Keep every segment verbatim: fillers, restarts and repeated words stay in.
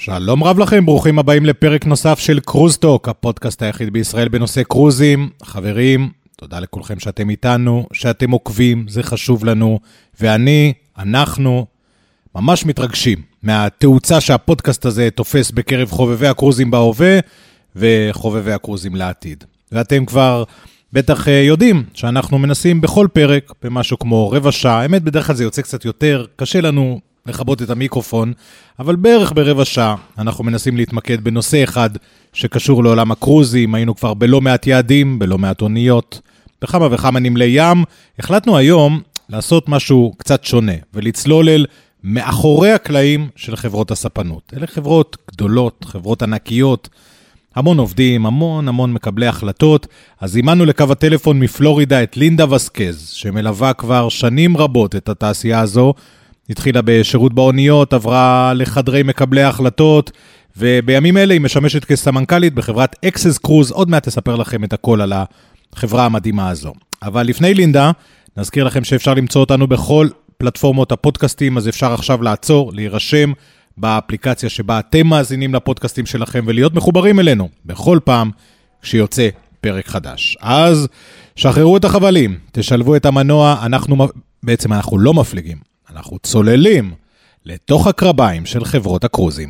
שלום רב לכם, ברוכים הבאים לפרק נוסף של קרוז טוק, הפודקאסט היחיד בישראל בנושא קרוזים. חברים, תודה לכולכם שאתם איתנו, שאתם עוקבים, זה חשוב לנו, ואני, אנחנו, ממש מתרגשים מהתאוצה שהפודקאסט הזה תופס בקרב חובבי הקרוזים בהווה, וחובבי הקרוזים לעתיד. ואתם כבר בטח יודעים שאנחנו מנסים בכל פרק, במשהו כמו רבע שעה, האמת בדרך כלל זה יוצא קצת יותר, קשה לנו לכבות את המיקרופון, אבל בערך ברבע שעה אנחנו מנסים להתמקד בנושא אחד שקשור לעולם הקרוזים. היינו כבר בלא מעט יעדים, בלא מעט אוניות, בכמה וכמה נמלי ים. החלטנו היום לעשות משהו קצת שונה, ולצלול אל מאחורי הקלעים של חברות הספנות. אלה חברות גדולות, חברות ענקיות, המון עובדים, המון המון מקבלי החלטות. אז זימנו לקו הטלפון מפלורידה את לינדה וסקז, שמלווה כבר שנים רבות את התעשייה הזו, התחילה בשירות באוניות, עברה לחדרי מקבלי ההחלטות, ובימים אלה היא משמשת כסמנכ"לית בחברת אקסס קרוז. עוד מעט תספר לכם את הכל על החברה המדהימה הזו. אבל לפני לינדה, נזכיר לכם שאפשר למצוא אותנו בכל פלטפורמות הפודקאסטים, אז אפשר עכשיו לעצור, להירשם באפליקציה שבה אתם מאזינים לפודקאסטים שלכם, ולהיות מחוברים אלינו בכל פעם כשיוצא פרק חדש. אז שחררו את החבלים, תשלבו את המנוע, אנחנו, בעצם אנחנו לא מפליגים. אנחנו צוללים לתוך הקרביים של חברות הקרוזים.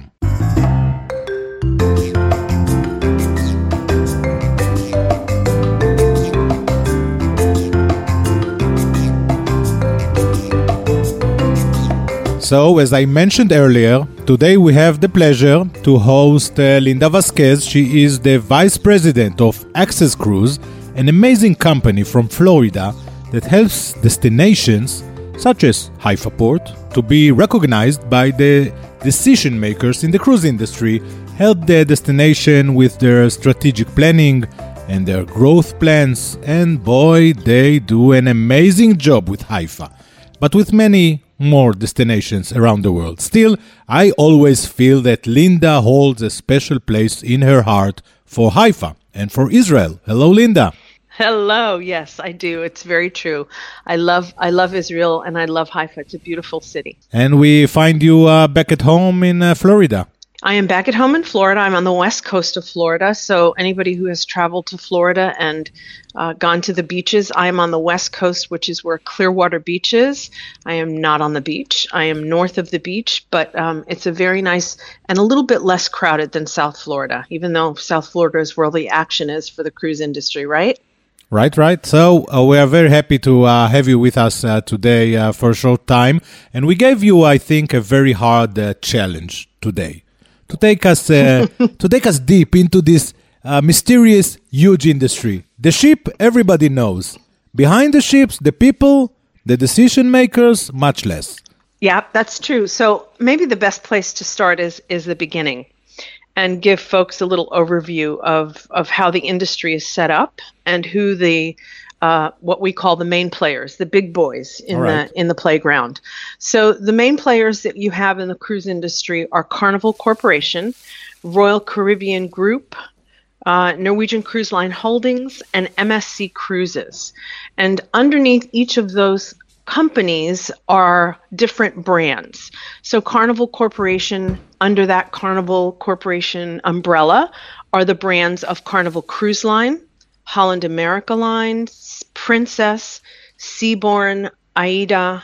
So, as I mentioned earlier, today we have the pleasure to host uh, Linda Vasquez. She is the Vice President of Access Cruise, an amazing company from Florida that helps destinations such as Haifa Port, to be recognized by the decision makers in the cruise industry, help the destination with their strategic planning and their growth plans, and boy, they do an amazing job with Haifa, but with many more destinations around the world. Still, I always feel that Linda holds a special place in her heart for Haifa and for Israel. Hello, Linda. Hello. Yes, I do. It's very true. I love I love Israel and I love Haifa. It's a beautiful city. And we find you uh, back at home in uh, Florida. I am back at home in Florida. I'm on the west coast of Florida. So anybody who has traveled to Florida and uh, gone to the beaches, I am on the west coast, which is where Clearwater Beach is. I am not on the beach. I am north of the beach, but um, it's a very nice and a little bit less crowded than South Florida, even though South Florida is where the action is for the cruise industry, right? Right, right. So uh, we are very happy to uh, have you with us uh, today uh, for a short time. And we gave you, I think, a very hard uh, challenge today to take us uh, to take us deep into this uh, mysterious, huge industry. The ship, everybody knows. Behind the ships, the people, the decision makers, much less. Yeah, that's true. So maybe the best place to start is is the beginning, and give folks a little overview of, of how the industry is set up and who the uh, what we call the main players, the big boys in right. the in the playground. So the main players that you have in the cruise industry are Carnival Corporation, Royal Caribbean Group, uh, Norwegian Cruise Line Holdings, and M S C Cruises. And underneath each of those companies are different brands. So Carnival Corporation, under that Carnival Corporation umbrella, are the brands of Carnival Cruise Line, Holland America Line, Princess, Seabourn, AIDA,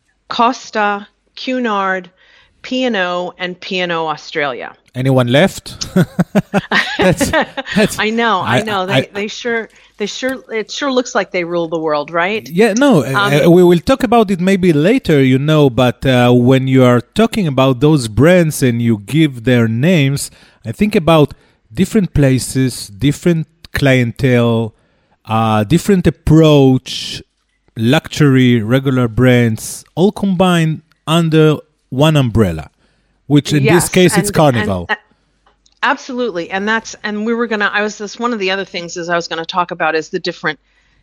Costa, Cunard, P and O, and P and O Australia. Anyone left? that's, that's, I know, I, I know. They I, they sure they sure it sure looks like they rule the world, right? Yeah, no. Um, uh, we will talk about it maybe later, you know. But uh, when you are talking about those brands and you give their names, I think about different places, different clientele, uh, different approach, luxury, regular brands, all combined under one umbrella, which in yes, this case, and, it's Carnival. And, uh, absolutely. And that's, and we were going to, I was, this one of the other things is I was going to talk about is the different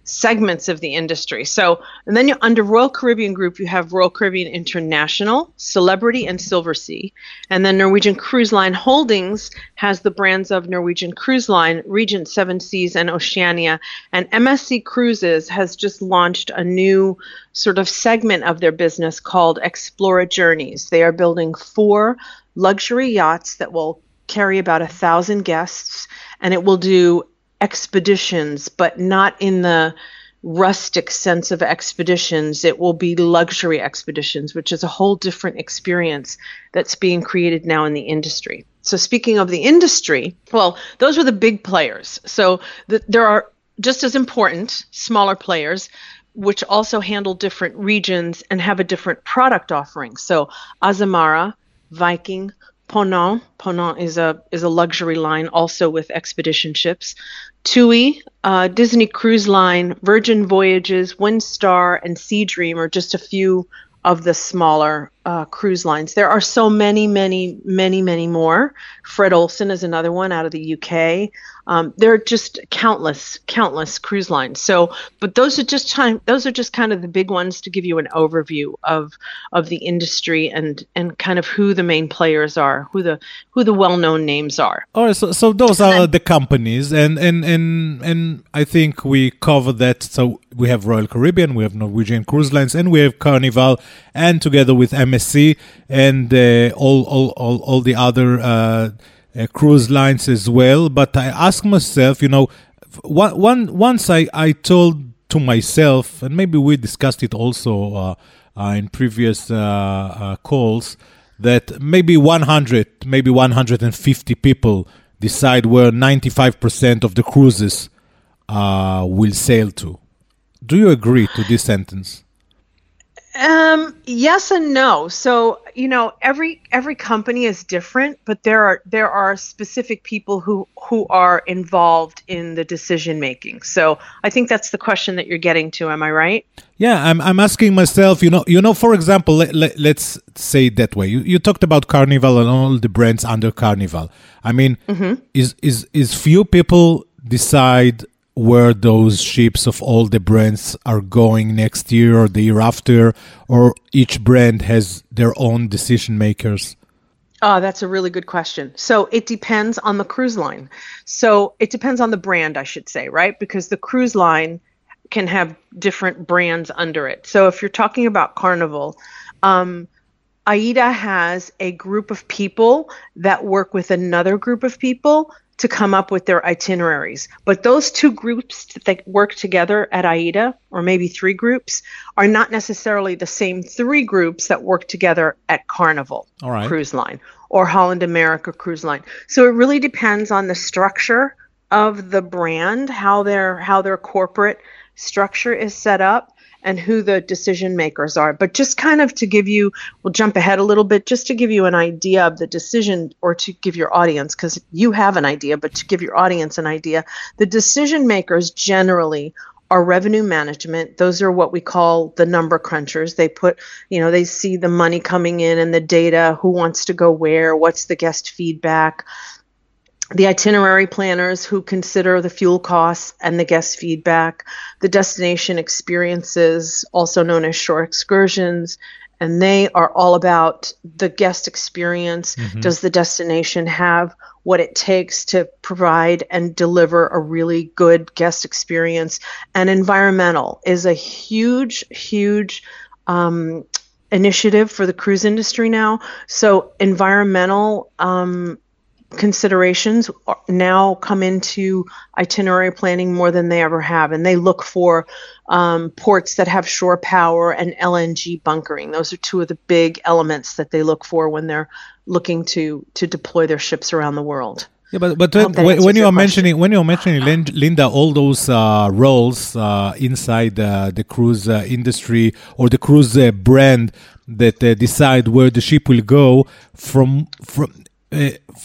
segments of the industry. So, and then you, under Royal Caribbean Group, you have Royal Caribbean International, Celebrity, and Silversea. And then Norwegian Cruise Line Holdings has the brands of Norwegian Cruise Line, Regent Seven Seas, and Oceania. And M S C Cruises has just launched a new sort of segment of their business called Explora Journeys. They are building four luxury yachts that will carry about a thousand guests, and it will do expeditions, but not in the rustic sense of expeditions. It will be luxury expeditions, which is a whole different experience that's being created now in the industry. So speaking of the industry, well, those are the big players. So the, there are just as important smaller players, which also handle different regions and have a different product offering. So Azamara, Viking, Ponant. Ponant is a is a luxury line also with expedition ships. TUI, uh, Disney Cruise Line, Virgin Voyages, Windstar, and Sea Dream are just a few of the smaller uh, cruise lines. There are so many, many, many, many more. Fred Olsen is another one out of the U K. Um, there are just countless, countless cruise lines. So, but those are just time. Those are just kind of the big ones to give you an overview of of the industry and and kind of who the main players are, who the who the well-known names are. All right. So, so those are the companies, and and and and I think we covered that. So we have Royal Caribbean, we have Norwegian Cruise Lines, and we have Carnival, and together with M S C and uh, all all all all the other. Uh, Uh, cruise lines as well. But I ask myself, you know, one, one once I, I told to myself, and maybe we discussed it also uh, uh, in previous uh, uh, calls, that maybe one hundred, maybe one hundred fifty people decide where ninety-five percent of the cruises uh, will sail to. Do you agree to this sentence? Um, yes and no. So, you know, every every company is different, but there are there are specific people who who are involved in the decision making. So, I think that's the question that you're getting to. Am I right? Yeah, I'm I'm asking myself, you know, you know, for example, let, let, let's say it that way. You you talked about Carnival and all the brands under Carnival. I mean, mm-hmm. is is is few people decide where those ships of all the brands are going next year or the year after, or each brand has their own decision makers? Oh, that's a really good question. So it depends on the cruise line. So it depends on the brand, I should say, right? Because the cruise line can have different brands under it. So if you're talking about Carnival, um, AIDA has a group of people that work with another group of people to come up with their itineraries. But those two groups that work together at AIDA, or maybe three groups, are not necessarily the same three groups that work together at Carnival All right. Cruise Line or Holland America Cruise Line. So it really depends on the structure of the brand, how their how their corporate structure is set up, and who the decision makers are. But just kind of to give you, we'll jump ahead a little bit, just to give you an idea of the decision, or to give your audience, because you have an idea, but to give your audience an idea, the decision makers generally are revenue management. Those are what we call the number crunchers. They put, you know, they see the money coming in and the data, who wants to go where, what's the guest feedback. The itinerary planners, who consider the fuel costs and the guest feedback, the destination experiences, also known as shore excursions, and they are all about the guest experience. Mm-hmm. Does the destination have what it takes to provide and deliver a really good guest experience? And environmental is a huge, huge um, initiative for the cruise industry now. So environmental um considerations now come into itinerary planning more than they ever have, and they look for um, ports that have shore power and L N G bunkering. Those are two of the big elements that they look for when they're looking to to deploy their ships around the world. Yeah, but but when, when you are mentioning when you are mentioning Linda, all those uh, roles uh, inside uh, the cruise uh, industry or the cruise uh, brand that uh, decide where the ship will go, from from. Uh,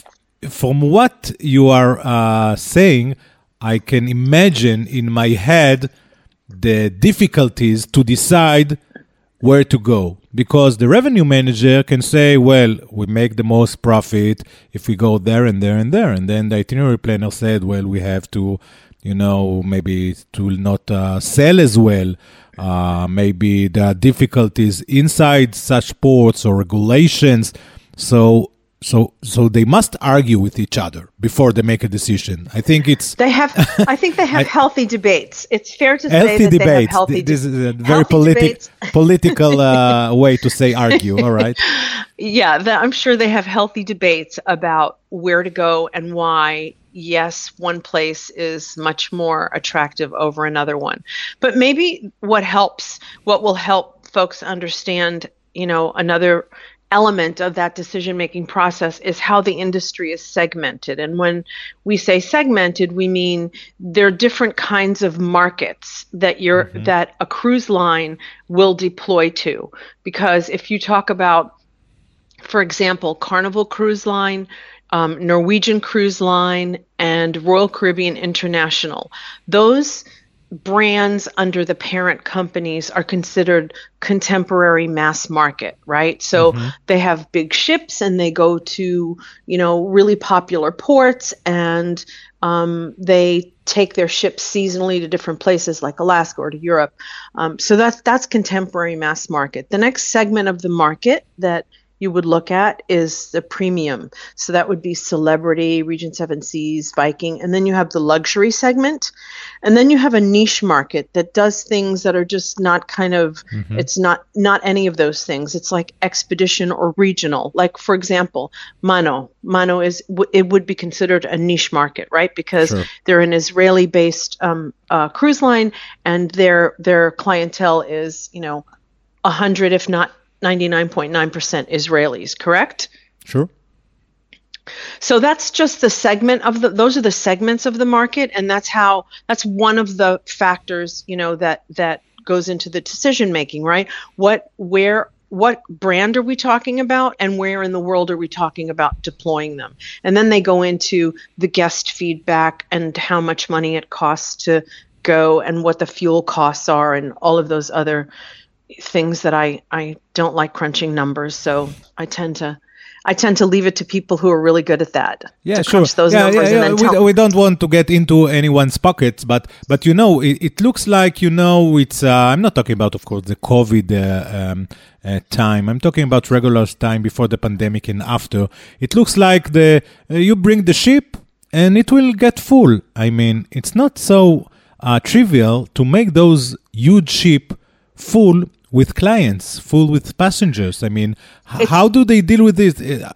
From what you are uh, saying, I can imagine in my head the difficulties to decide where to go, because the revenue manager can say, well, we make the most profit if we go there and there and there. And then the itinerary planner said, well, we have to, you know, maybe it will not uh, sell as well. Uh, maybe there are difficulties inside such ports or regulations. So, so, so they must argue with each other before they make a decision. I think it's they have. I think they have I, healthy debates. It's fair to healthy say that debates. they have healthy. This is a very politi- political uh, way to say argue. All right. Yeah, the, I'm sure they have healthy debates about where to go and why. Yes, one place is much more attractive over another one. But maybe what helps, what will help folks understand, you know, another element of that decision-making process is how the industry is segmented. And when we say segmented, we mean there are different kinds of markets that you're mm-hmm. that a cruise line will deploy to. Because if you talk about, for example, Carnival Cruise Line, um, Norwegian Cruise Line, and Royal Caribbean International, those brands under the parent companies are considered contemporary mass market, right? So mm-hmm. they have big ships and they go to, you know, really popular ports, and um, they take their ships seasonally to different places like Alaska or to Europe. Um, so that's that's contemporary mass market. The next segment of the market that you would look at is the premium. So that would be Celebrity, Regent Seven Seas, Viking, and then you have the luxury segment. And then you have a niche market that does things that are just not kind of, mm-hmm. it's not not any of those things. It's like expedition or regional. Like, for example, Mano. Mano is, it would be considered a niche market, right? Because sure. they're an Israeli-based um, uh, cruise line, and their their clientele is, you know, one hundred, if not ninety-nine point nine percent Israelis, correct? Sure. So that's just the segment of the, those are the segments of the market. And that's how, that's one of the factors, you know, that, that goes into the decision making, right? What, where, what brand are we talking about, and where in the world are we talking about deploying them? And then they go into the guest feedback and how much money it costs to go and what the fuel costs are and all of those other things that I, I don't like crunching numbers, so I tend to I tend to leave it to people who are really good at that. Yeah, to sure. Crunch those yeah, numbers yeah, yeah. And then we, tell- we don't want to get into anyone's pockets, but but you know, it, it looks like, you know, it's. Uh, I'm not talking about, of course, the COVID uh, um, uh, time. I'm talking about regular time before the pandemic and after. It looks like the uh, you bring the ship and it will get full. I mean, it's not so uh, trivial to make those huge ship full with clients, full with passengers. I mean, h- how do they deal with this? Uh,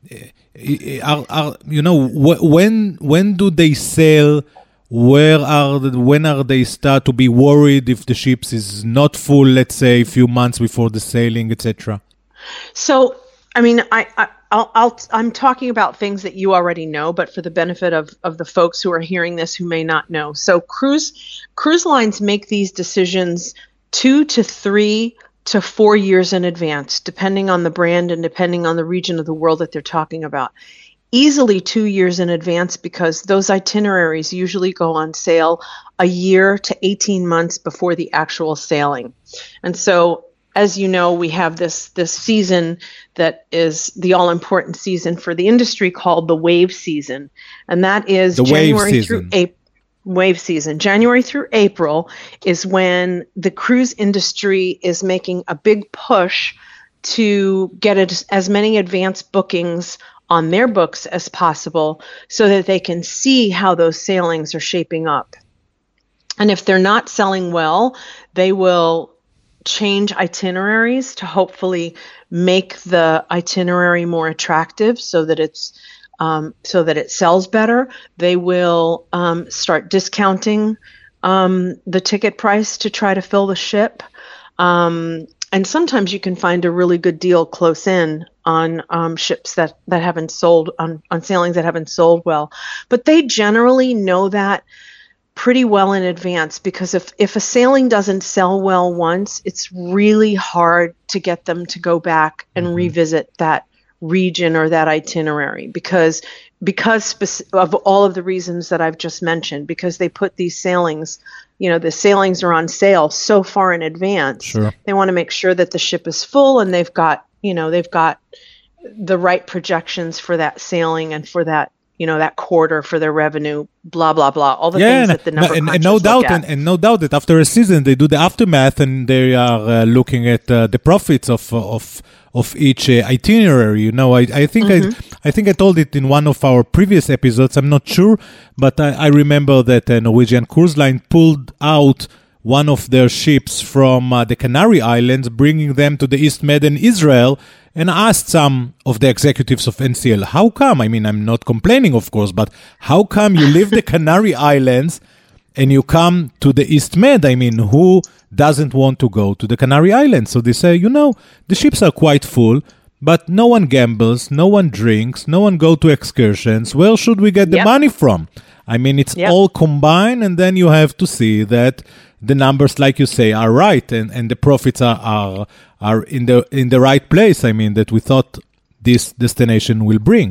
are, are, you know, wh- when when do they sail? Where are the, when are they start to be worried if the ships is not full? Let's say a few months before the sailing, et cetera. So, I mean, I, I I'll, I'll I'm talking about things that you already know, but for the benefit of of the folks who are hearing this who may not know. So, cruise cruise lines make these decisions two to three to four years in advance, depending on the brand and depending on the region of the world that they're talking about. Easily two years in advance, because those itineraries usually go on sale a year to eighteen months before the actual sailing. And so, as you know, we have this, this season that is the all-important season for the industry called the wave season. And that is the January through April. Wave season. January through April is when the cruise industry is making a big push to get as, as many advanced bookings on their books as possible so that they can see how those sailings are shaping up. And if they're not selling well, they will change itineraries to hopefully make the itinerary more attractive so that it's Um, so that it sells better. They will um, start discounting um, the ticket price to try to fill the ship. Um, and sometimes you can find a really good deal close in on um, ships that, that haven't sold, on, on sailings that haven't sold well. But they generally know that pretty well in advance, because if, if a sailing doesn't sell well once, it's really hard to get them to go back and mm-hmm. revisit that region or that itinerary, because because speci- of all of the reasons that I've just mentioned, because they put these sailings, you know, the sailings are on sale so far in advance. Sure. They want to make sure that the ship is full and they've got, you know, they've got the right projections for that sailing and for that, you know, that quarter for their revenue, blah, blah, blah, all the yeah, things and, that the number and, crunchers and no doubt, look at. and, and no doubt that after a season they do the aftermath and they are uh, looking at uh, the profits of of of each uh, itinerary. You know, I I think mm-hmm. I I think I told it in one of our previous episodes. I'm not sure, but I, I remember that uh, Norwegian Cruise Line pulled out one of their ships from uh, the Canary Islands, bringing them to the East Med in Israel, and asked some of the executives of N C L, how come? I mean, I'm not complaining, of course, but how come you leave the Canary Islands and you come to the East Med? I mean, who doesn't want to go to the Canary Islands? So they say, you know, the ships are quite full, but no one gambles, no one drinks, no one go to excursions. Where should we get the yep. money from? I mean, it's yep. all combined, and then you have to see that the numbers, like you say, are right, and, and the profits are, are are in the in the right place. I mean, that we thought this destination will bring.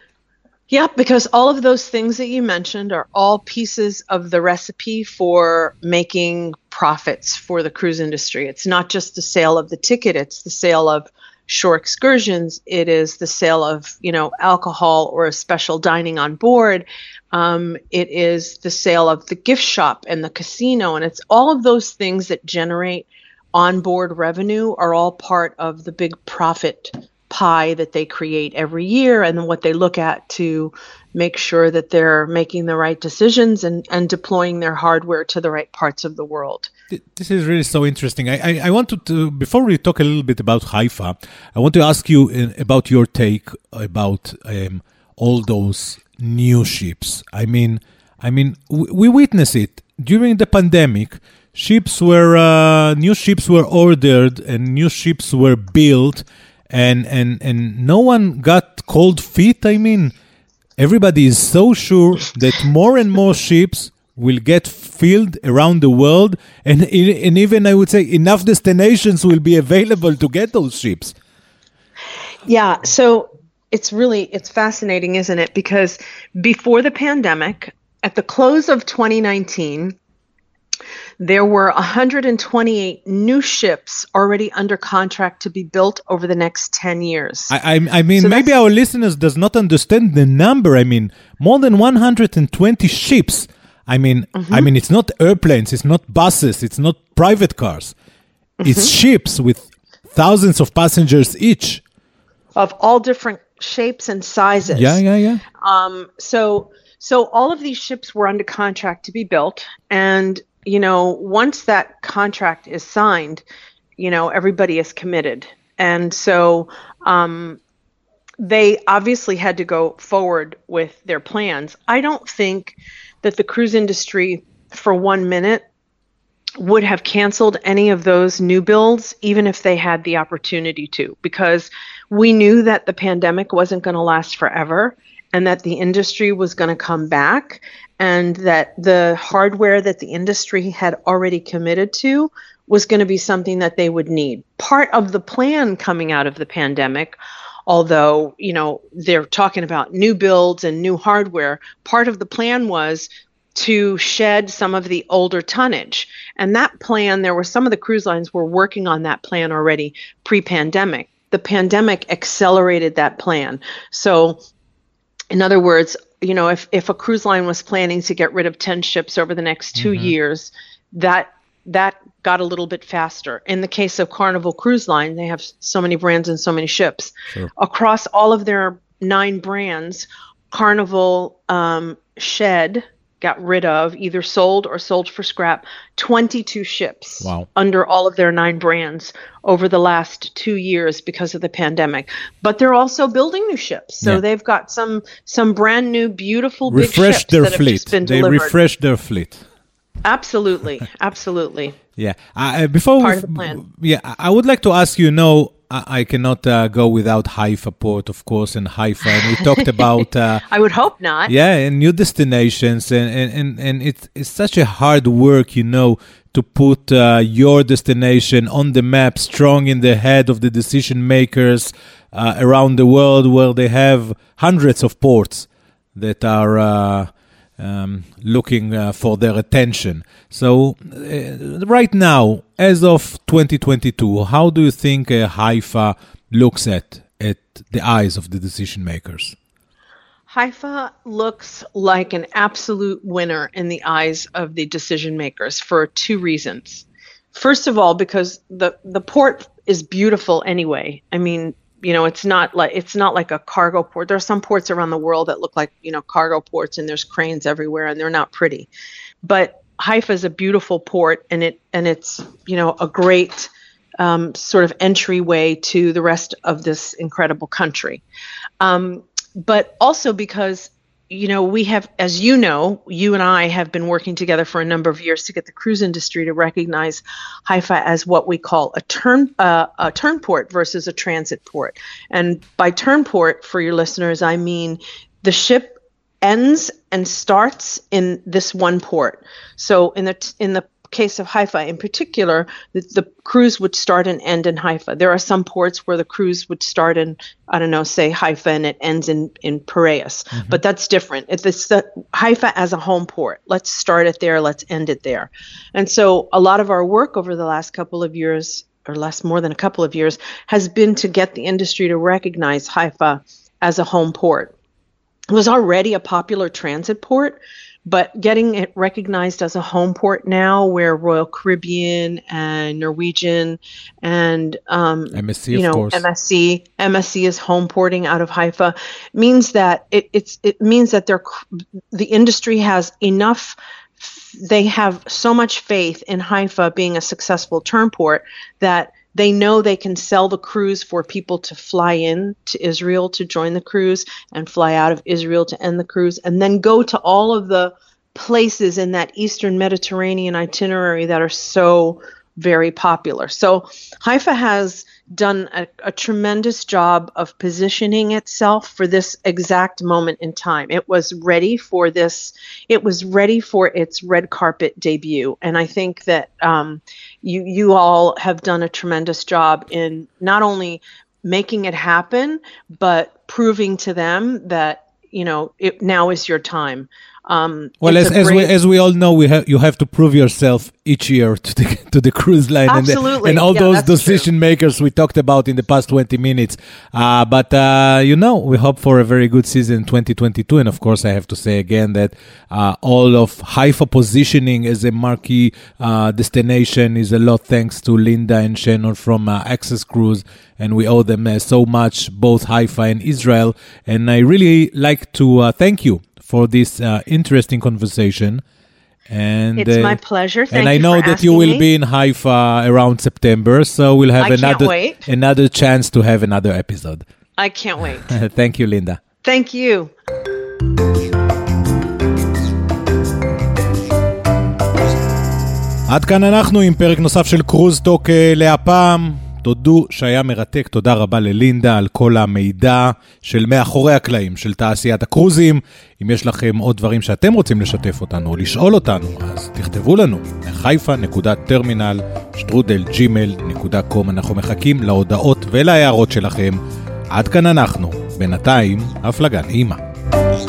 Yeah, because all of those things that you mentioned are all pieces of the recipe for making profits for the cruise industry. It's not just the sale of the ticket, it's the sale of shore excursions, it is the sale of, you know, alcohol or a special dining on board. Um, it is the sale of the gift shop and the casino, and it's all of those things that generate onboard revenue are all part of the big profit pie that they create every year, and then what they look at to make sure that they're making the right decisions and, and deploying their hardware to the right parts of the world. This is really so interesting. I, I, I wanted to, before we talk a little bit about Haifa, I want to ask you in, about your take about um, all those new ships. I mean, I mean, we, we witnessed it during the pandemic. Ships were uh, new ships were ordered and new ships were built, and and and no one got cold feet. I mean, everybody is so sure that more and more ships will get filled around the world, and and even I would say enough destinations will be available to get those ships. Yeah. So. It's really, it's fascinating, isn't it? Because before the pandemic, at the close of twenty nineteen, there were one hundred twenty-eight new ships already under contract to be built over the next ten years. I, I, I mean, so maybe our listeners does not understand the number. I mean, more than one hundred twenty ships. I mean, mm-hmm. I mean, it's not airplanes, it's not buses, it's not private cars. Mm-hmm. It's ships with thousands of passengers each. Of all different shapes and sizes. Yeah, yeah, yeah. Um, so, so all of these ships were under contract to be built, and you know, once that contract is signed, you know, everybody is committed, and so um, they obviously had to go forward with their plans. I don't think that the cruise industry, for one minute, would have canceled any of those new builds, even if they had the opportunity to, because we knew that the pandemic wasn't going to last forever, and that the industry was going to come back, and that the hardware that the industry had already committed to was going to be something that they would need. Part of the plan coming out of the pandemic, although, you know, they're talking about new builds and new hardware, part of the plan was to shed some of the older tonnage. And that plan, there were some of the cruise lines were working on that plan already pre-pandemic. The pandemic accelerated that plan. So, in other words, you know, if, if a cruise line was planning to get rid of ten ships over the next two mm-hmm. years, that that got a little bit faster. In the case of Carnival Cruise Line, they have so many brands and so many ships. Sure. Across all of their nine brands, Carnival um, shed, got rid of, either sold or sold for scrap, twenty-two ships wow. under all of their nine brands over the last two years because of the pandemic. But they're also building new ships. So yeah. they've got some some brand new, beautiful, refresh big ships their that fleet. have just been they delivered. refresh their fleet. Absolutely. Absolutely. Yeah. Uh, before Part we, of the plan. Yeah, I would like to ask you, no, I cannot uh, go without Haifa Port, of course, and Haifa. And we talked about... Uh, I would hope not. Yeah, and new destinations. And, and, and, and it's, it's such a hard work, you know, to put uh, your destination on the map, strong in the head of the decision makers uh, around the world, where they have hundreds of ports that are... Uh, Um, looking uh, for their attention. So uh, right now, as of twenty twenty-two, how do you think uh, Haifa looks at at the eyes of the decision makers? Haifa looks like an absolute winner in the eyes of the decision makers for two reasons. First of all, because the, the port is beautiful anyway. I mean, you know, it's not like it's not like a cargo port. There are some ports around the world that look like, you know, cargo ports, and there's cranes everywhere, and they're not pretty. But Haifa is a beautiful port, and it and it's, you know, a great um, sort of entryway to the rest of this incredible country. Um, but also because, you know, we have, as you know, you and I have been working together for a number of years to get the cruise industry to recognize Haifa as what we call a turn uh, a turn port versus a transit port. And by turn port, for your listeners, I mean the ship ends and starts in this one port. So in the in the case of Haifa in particular, the, the cruise would start and end in Haifa. There are some ports where the cruise would start in, I don't know, say Haifa, and it ends in, in Piraeus. Mm-hmm. But that's different. It's the Haifa as a home port. Let's start it there. Let's end it there. And so a lot of our work over the last couple of years, or less more than a couple of years, has been to get the industry to recognize Haifa as a home port. It was already a popular transit port, but getting it recognized as a home port now, where Royal Caribbean and Norwegian and um, M S C, you of know, course. M S C, M S C is home porting out of Haifa, means that it, it's it means that they're the industry has enough. They have so much faith in Haifa being a successful turn port that they know they can sell the cruise for people to fly in to Israel to join the cruise and fly out of Israel to end the cruise, and then go to all of the places in that Eastern Mediterranean itinerary that are so very popular. So Haifa has done a, a tremendous job of positioning itself for this exact moment in time. It was ready for this. It was ready for its red carpet debut. And I think that um, you you all have done a tremendous job in not only making it happen, but proving to them that, you know, it now is your time. Um, well, as, as, we, as we all know, we have you have to prove yourself each year to the to the cruise line. Absolutely. and, the, and all yeah, those decision true. makers we talked about in the past twenty minutes. Uh, but uh, you know, we hope for a very good season twenty twenty-two. And of course, I have to say again that uh, all of Haifa positioning as a marquee uh, destination is a lot thanks to Linda and Shannon from uh, Access Cruise, and we owe them uh, so much, both Haifa and Israel. And I really like to uh, thank you for this uh, interesting conversation. And it's uh, my pleasure. Thank and I you know for that you will me. be in Haifa around September, so we'll have I another can't wait. another chance to have another episode. I can't wait. Thank you, Linda. Thank you. עד כאן אנחנו עם פרק נוסף של קרוז טוק להפעם. תודו שהיה מרתק, תודה רבה ללינדה על כל המידע של מאחורי הקלעים של תעשיית הקרוזים. אם יש לכם עוד דברים שאתם רוצים לשתף אותנו או לשאול אותנו, אז תכתבו לנו חיפה נקודה טרמינל שטרודל ג'ימייל נקודה קום. אנחנו מחכים להודעות ולהערות שלכם. עד כאן אנחנו, בינתיים הפלגה נעימה.